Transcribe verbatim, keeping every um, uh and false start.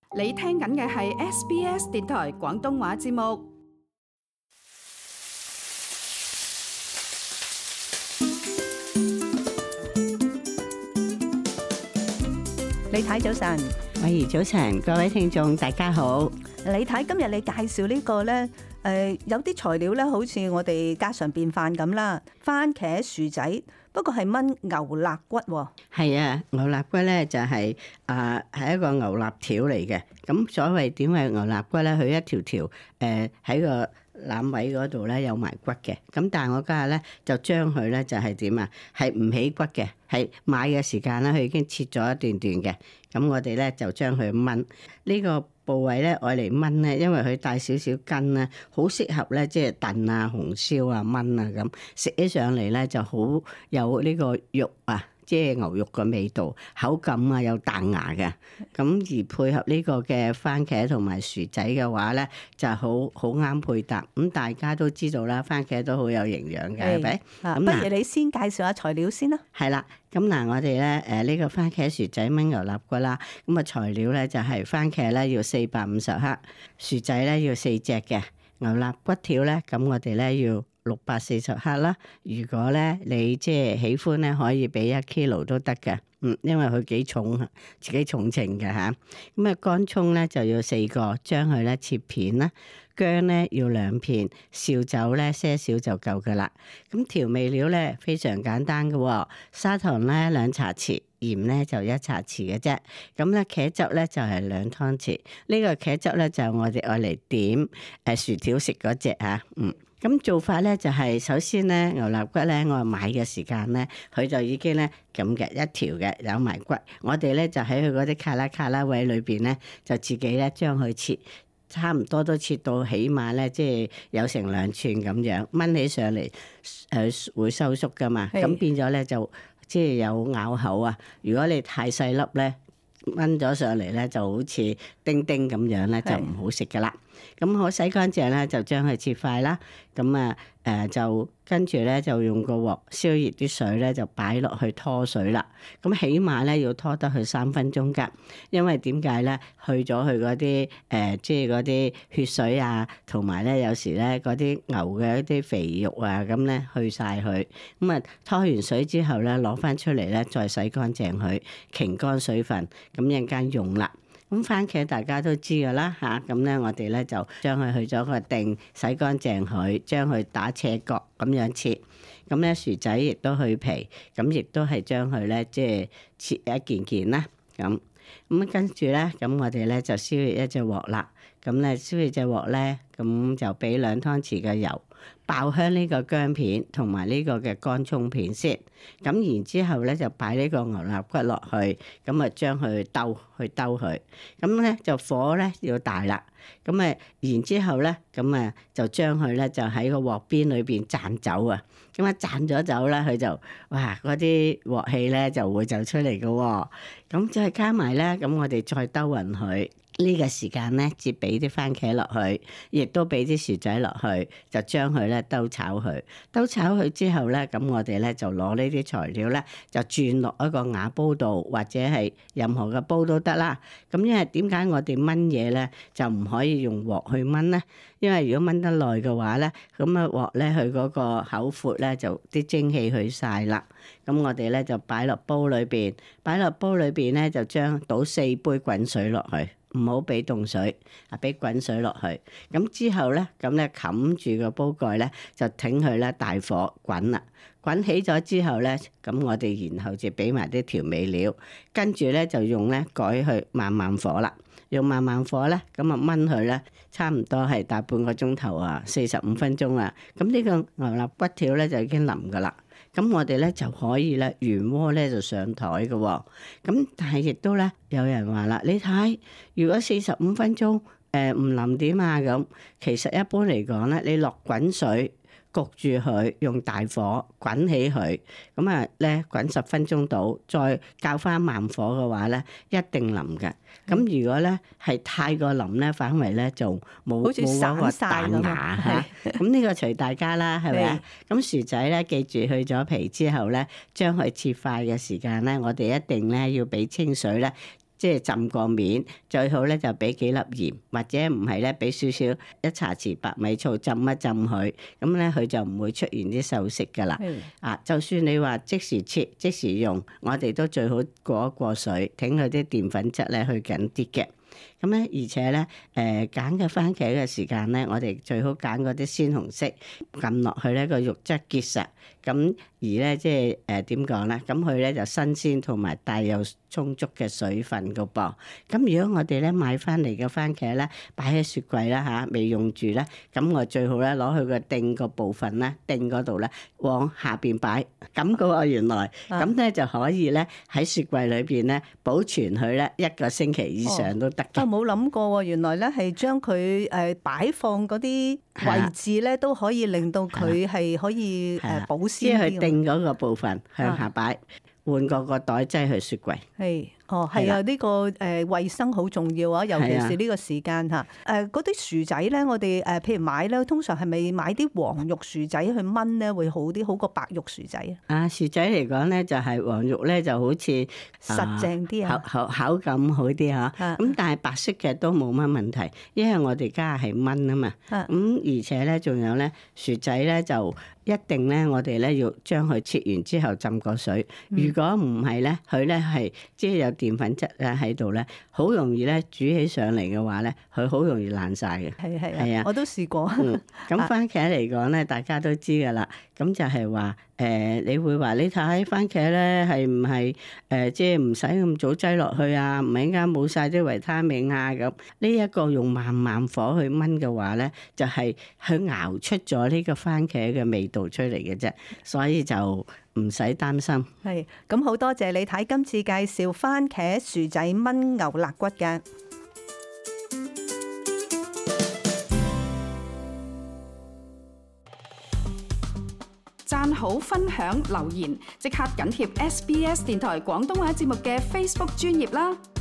你聽緊嘅係 S B S 電台廣東話節目。李太早晨， 慧兒早晨，各位聽眾大家好。 李太，今日你介紹呢個呢，誒有啲材料呢，好似我哋家常便飯咁啦，番茄薯仔，不過係炆牛肋骨喎。 係啊，牛肋骨咧就係啊係一個牛肋條嚟嘅。咁所謂點係牛肋骨咧？佢一條條誒喺個腩位嗰度咧有埋骨嘅。咁但係我家下咧就將佢咧就係點啊？係唔起骨嘅，係買嘅時間咧佢已經切咗一段段嘅。咁我哋咧就將佢炆呢個部位咧，愛嚟炆咧，因為佢帶少少筋咧，好適合咧，即係燉啊、紅燒啊、炆啊咁，食起上嚟咧就好有呢個肉啊，即係牛肉嘅味道，口感啊有彈牙嘅。咁而配合呢個嘅番茄同埋薯仔嘅話咧，就好好啱配搭。咁大家都知道啦，番茄都好有營養嘅，係咪？ 咁不如你先介紹下材料先啦。 係啦。咁嗱，我哋咧誒呢個番茄薯仔炆牛肋骨啦，咁啊材料咧就係番茄咧要四百五十克，薯仔咧要四隻嘅，牛肋骨條咧咁我哋咧要六百四十克啦。如果咧你即係喜歡咧，可以俾一 kilo 都得嘅，嗯，因為佢幾重，自己重稱嘅吓。咁啊乾葱咧就要四個，將佢咧切片啦。薑咧要兩片，紹酒咧些少就夠噶啦。咁調味料咧非常簡單嘅，砂糖咧兩茶匙，鹽咧就一茶匙嘅啫。咁咧茄汁咧就係兩湯匙。呢個茄汁咧就我哋愛嚟點誒薯條食嗰隻吓，嗯。咁做法咧就係首先咧牛肋骨咧我買嘅時間咧佢就已經咧咁嘅一條嘅有埋骨，我哋咧就喺佢嗰啲卡拉卡拉位裏邊咧就自己咧將佢切。差唔多都切到起碼咧，即係有成兩寸咁樣，炆起上嚟誒會收縮噶嘛，咁變咗咧就即係有咬口啊。如果你太細粒咧，炆咗上嚟咧就好似丁丁咁樣咧，就唔好食噶啦。咁我洗乾淨咧，就將佢切塊啦。咁啊誒就跟住咧就用個鑊燒熱啲水咧，就擺落去拖水啦。咁起碼咧要拖得去三分鐘㗎，因為點解咧？去咗佢嗰啲誒，即係嗰啲血水啊，同埋咧有時咧嗰啲牛嘅一啲肥肉啊，咁咧去晒佢。咁啊拖完水之後咧，攞翻出嚟咧，再洗乾淨佢，擎乾水分，咁一陣間用啦。咁番茄大家都知噶啦嚇，咁咧我哋咧就將佢去咗個定，洗乾淨佢，將佢打斜角咁樣切。咁咧薯仔亦都去皮，咁亦都係將佢咧即係切一件件啦。咁咁跟住咧，咁我哋咧就燒熱一隻鑊啦。咁咧燒熱隻鑊咧，咁就俾兩湯匙嘅油，爆香呢個薑片同埋呢個嘅乾葱片先。咁然之後咧就擺呢個牛肋骨落去，咁啊將佢兜去兜佢。咁咧就火咧要大啦。咁啊然之後咧，咁啊就將佢咧就喺個鑊邊裏邊灒走啊。咁啊灒咗走啦，佢就哇嗰啲鑊氣咧就會走出嚟嘅喎。咁再加埋咧，咁我哋再兜勻佢。呢個時間咧，接俾啲番茄落去，亦都俾啲薯仔落去，就將佢咧兜炒佢。兜炒佢之後咧，咁我哋咧就攞呢啲材料咧，就轉落一個瓦煲度，或者係任何嘅煲都得啦。咁因為點解我哋燜嘢咧就唔可以用鑊去燜咧？因為如果燜得耐嘅話咧，咁啊鑊咧佢嗰個口闊咧就啲蒸氣去晒啦。咁我哋咧就擺落煲裏邊，擺落煲裏邊咧就將倒四杯滾水落去。唔好俾凍水，啊俾滾水落去。咁之後咧，咁咧冚住個煲蓋咧，就挺佢咧大火滾啦。滾起咗之後咧，咁我哋然後就俾埋啲調味料，跟住咧就用咧改去慢慢火啦。用慢慢火咧，咁啊燜佢咧，差唔多係大半個鐘頭啊，四十五分鐘啊。咁呢個牛肋骨條咧就已經腍噶啦。咁我哋咧就可以咧原鍋咧就上台嘅喎。咁但係亦都咧有人話啦，你睇如果四十五分鐘誒唔腍點啊咁，其實一般嚟講咧，你落滾水。焗住佢，用大火滾起佢，咁啊咧滾十分鐘到，再較翻慢火嘅話咧，一定腍嘅。咁如果咧係太過腍咧，反為咧就冇冇嗰個彈牙嚇。咁呢個隨大家啦，係咪啊？咁薯仔咧，記住去咗皮之後咧，將佢切塊嘅時間咧，我哋一定咧要俾清水咧。 即係浸過面，最好咧就俾幾粒鹽，或者唔係咧俾少少一茶匙白米醋浸一浸佢，咁咧佢就唔會出現啲鏽色噶啦。 係啊，就算你話即時切即時用，我哋都最好過一過水，挺佢啲澱粉質咧去緊啲嘅。咁咧，而且咧，誒揀嘅番茄嘅時間咧，我哋最好揀嗰啲鮮紅色，撳落去咧個肉質結實。咁而咧，即係誒點講咧？咁佢咧就新鮮同埋帶有充足嘅水分個噃。咁如果我哋咧買翻嚟嘅番茄咧，擺喺雪櫃啦嚇，未用住咧，咁我最好咧攞佢個頂個部分咧，頂嗰度咧往下邊擺。咁嘅喎原來，咁咧就可以咧喺雪櫃裏邊咧保存佢咧一個星期以上都得嘅。 我冇諗過喎，原來咧係將佢誒擺放嗰啲位置咧，都可以令到佢係可以誒保鮮。 即係佢定嗰個部分向下擺，換個個袋擠去雪櫃。 係，哦，係啊，呢個誒衞生好重要啊，尤其是呢個時間嚇。誒嗰啲薯仔咧，我哋誒譬如買咧，通常係咪買啲黃肉薯仔去燜咧會好啲，好過白肉薯仔啊？ 啊，薯仔嚟講咧，就係黃肉咧就好似實淨啲啊， 口口口感好啲嚇。咁但係白色嘅都冇乜問題，因為我哋家係燜啊嘛。咁而且咧，仲有咧薯仔咧就一定咧，我哋咧要將佢切完之後浸過水。如果唔係咧，佢咧係即係有澱粉質咧喺度咧，好容易咧煮起上嚟嘅話咧，佢好容易爛晒嘅。 係係係啊，我都試過。 嗯，咁番茄嚟講咧，大家都知㗎啦。咁就係話誒，你會話你睇番茄咧係唔係誒，即係唔使咁早擠落去啊？唔係應該冇晒啲維他命啊咁。呢一個用慢慢火去燜嘅話咧，就係去熬出咗呢個番茄嘅味道出嚟嘅啫，所以就唔使擔心。 係，咁好多謝你睇今次介紹番茄薯仔燜牛肋骨嘅。 讚好、分享、留言，即刻緊貼 S B S 電台廣東話節目嘅 Facebook 專頁啦！